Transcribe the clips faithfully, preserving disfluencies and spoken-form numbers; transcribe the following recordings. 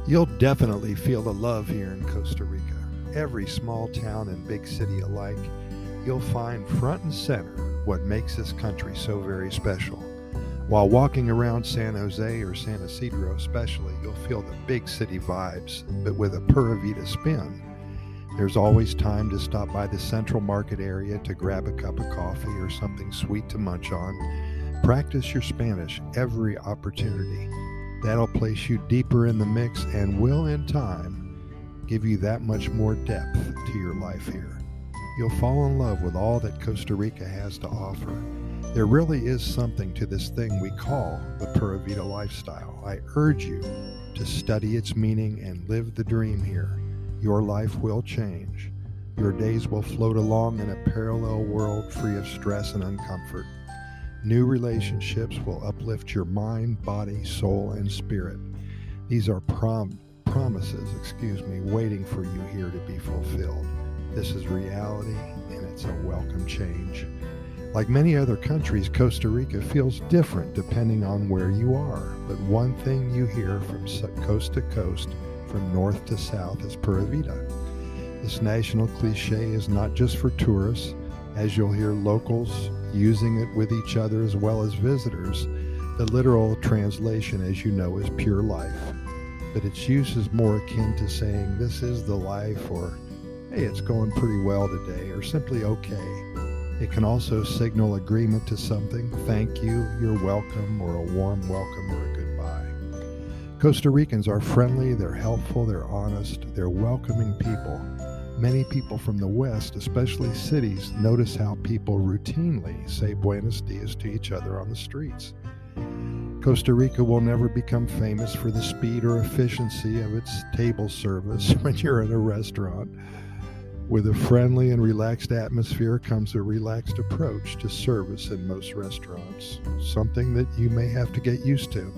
You'll definitely feel the love here in Costa Rica. Every small town and big city alike, you'll find front and center what makes this country so very special. While walking around San Jose or San Isidro especially, you'll feel the big city vibes, but with a Pura Vida spin. There's always time to stop by the Central Market area to grab a cup of coffee or something sweet to munch on. Practice your Spanish every opportunity. That'll place you deeper in the mix and will, in time, give you that much more depth to your life here. You'll fall in love with all that Costa Rica has to offer. There really is something to this thing we call the Pura Vida lifestyle. I urge you to study its meaning and live the dream here. Your life will change. Your days will float along in a parallel world free of stress and uncomfort. New relationships will uplift your mind, body, soul, and spirit. These are prom- promises, excuse me, waiting for you here to be fulfilled. This is reality, and it's a welcome change. Like many other countries, Costa Rica feels different depending on where you are. But one thing you hear from coast to coast, from north to south, is Pura Vida. This national cliche is not just for tourists, as you'll hear locals using it with each other as well as visitors. The literal translation, as you know, is pure life. But its use is more akin to saying, this is the life, or hey, it's going pretty well today, or simply okay. It can also signal agreement to something, thank you, you're welcome, or a warm welcome or a goodbye. Costa Ricans are friendly, they're helpful, they're honest, they're welcoming people. Many people from the West, especially cities, notice how people routinely say buenos dias to each other on the streets. Costa Rica will never become famous for the speed or efficiency of its table service when you're at a restaurant. With a friendly and relaxed atmosphere comes a relaxed approach to service in most restaurants, something that you may have to get used to.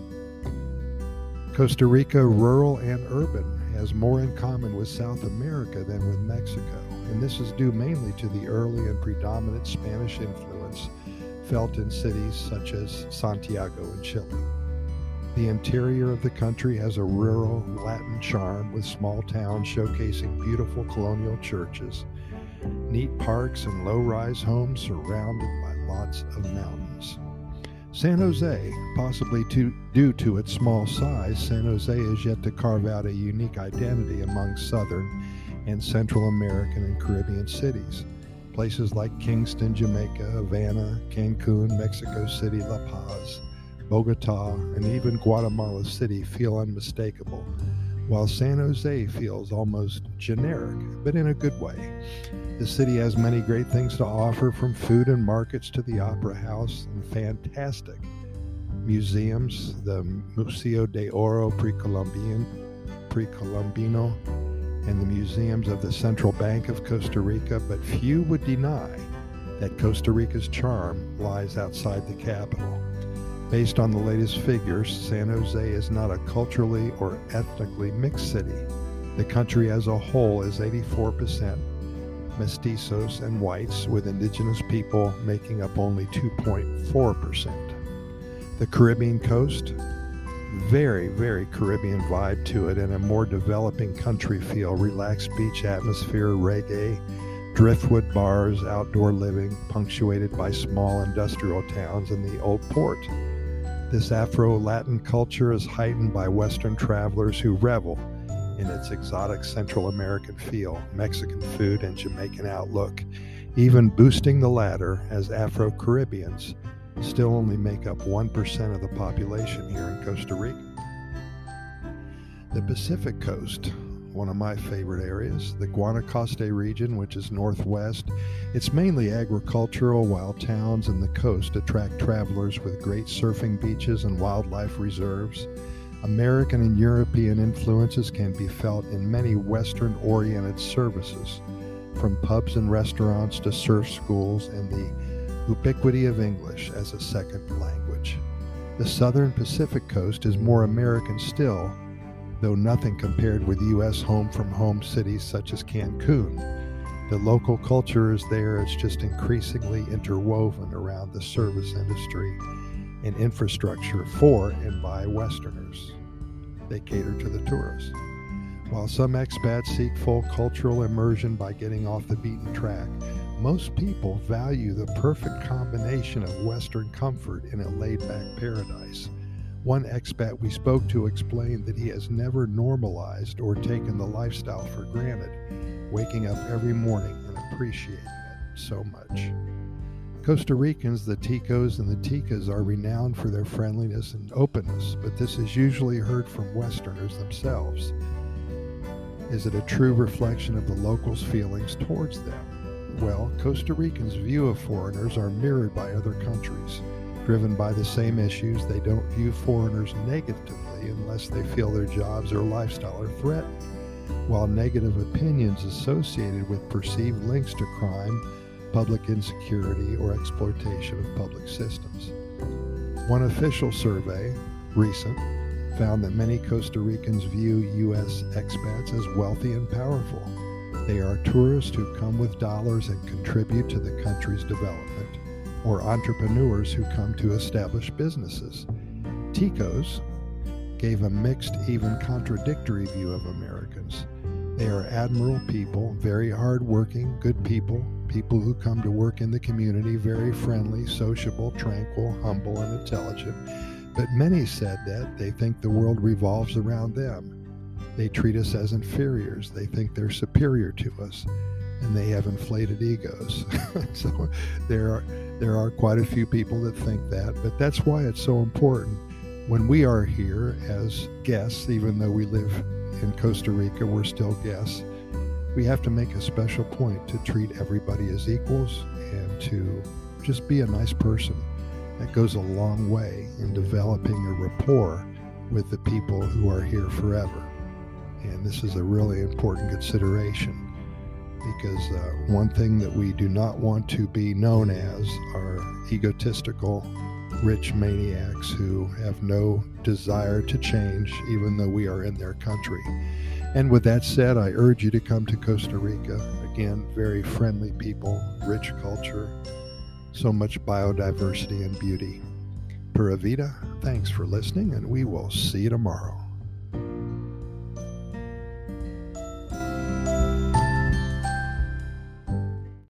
Costa Rica, rural and urban, has more in common with South America than with Mexico, and this is due mainly to the early and predominant Spanish influence felt in cities such as Santiago in Chile. The interior of the country has a rural Latin charm with small towns showcasing beautiful colonial churches, neat parks, and low-rise homes surrounded by lots of mountains. San Jose, possibly to, due to its small size, San Jose is yet to carve out a unique identity among Southern and Central American and Caribbean cities. Places like Kingston, Jamaica, Havana, Cancun, Mexico City, La Paz, Bogota, and even Guatemala City feel unmistakable, while San Jose feels almost generic, but in a good way. The city has many great things to offer, from food and markets to the Opera House and fantastic museums, the Museo de Oro Precolombino, Precolombino, and the museums of the Central Bank of Costa Rica, but few would deny that Costa Rica's charm lies outside the capital. Based on the latest figures, San Jose is not a culturally or ethnically mixed city. The country as a whole is eighty-four percent mestizos and whites, with indigenous people making up only two point four percent. The Caribbean coast, very, very Caribbean vibe to it, and a more developing country feel, relaxed beach atmosphere, reggae, driftwood bars, outdoor living, punctuated by small industrial towns and the old port. This Afro-Latin culture is heightened by Western travelers who revel in its exotic Central American feel, Mexican food, and Jamaican outlook, even boosting the latter, as Afro-Caribbeans still only make up one percent of the population here in Costa Rica. The Pacific Coast, one of my favorite areas, the Guanacaste region, which is northwest. It's mainly agricultural, while towns and the coast attract travelers with great surfing beaches and wildlife reserves. American and European influences can be felt in many Western-oriented services, from pubs and restaurants to surf schools and the ubiquity of English as a second language. The southern Pacific coast is more American still, though nothing compared with U S home-from-home cities such as Cancun. The local culture is there, it's just increasingly interwoven around the service industry and infrastructure for and by Westerners. They cater to the tourists. While some expats seek full cultural immersion by getting off the beaten track, most people value the perfect combination of Western comfort in a laid-back paradise. One expat we spoke to explained that he has never normalized or taken the lifestyle for granted, waking up every morning and appreciating it so much. Costa Ricans, the Ticos and the Ticas, are renowned for their friendliness and openness, but this is usually heard from Westerners themselves. Is it a true reflection of the locals' feelings towards them? Well, Costa Ricans' view of foreigners are mirrored by other countries. Driven by the same issues, they don't view foreigners negatively unless they feel their jobs or lifestyle are threatened, while negative opinions associated with perceived links to crime, public insecurity, or exploitation of public systems. One official survey, recent, found that many Costa Ricans view U S expats as wealthy and powerful. They are tourists who come with dollars and contribute to the country's development, or entrepreneurs who come to establish businesses. Ticos gave a mixed, even contradictory view of Americans. They are admirable people, very hardworking, good people, people who come to work in the community, very friendly, sociable, tranquil, humble, and intelligent. But many said that they think the world revolves around them. They treat us as inferiors. They think they're superior to us, and they have inflated egos. So there are there are quite a few people that think that, but that's why it's so important when we are here as guests, even though we live in Costa Rica, we're still guests. We have to make a special point to treat everybody as equals and to just be a nice person. That goes a long way in developing a rapport with the people who are here forever. And this is a really important consideration, because uh, one thing that we do not want to be known as are egotistical, rich maniacs who have no desire to change, even though we are in their country. And with that said, I urge you to come to Costa Rica. Again, very friendly people, rich culture, so much biodiversity and beauty. Pura Vida, thanks for listening, and we will see you tomorrow.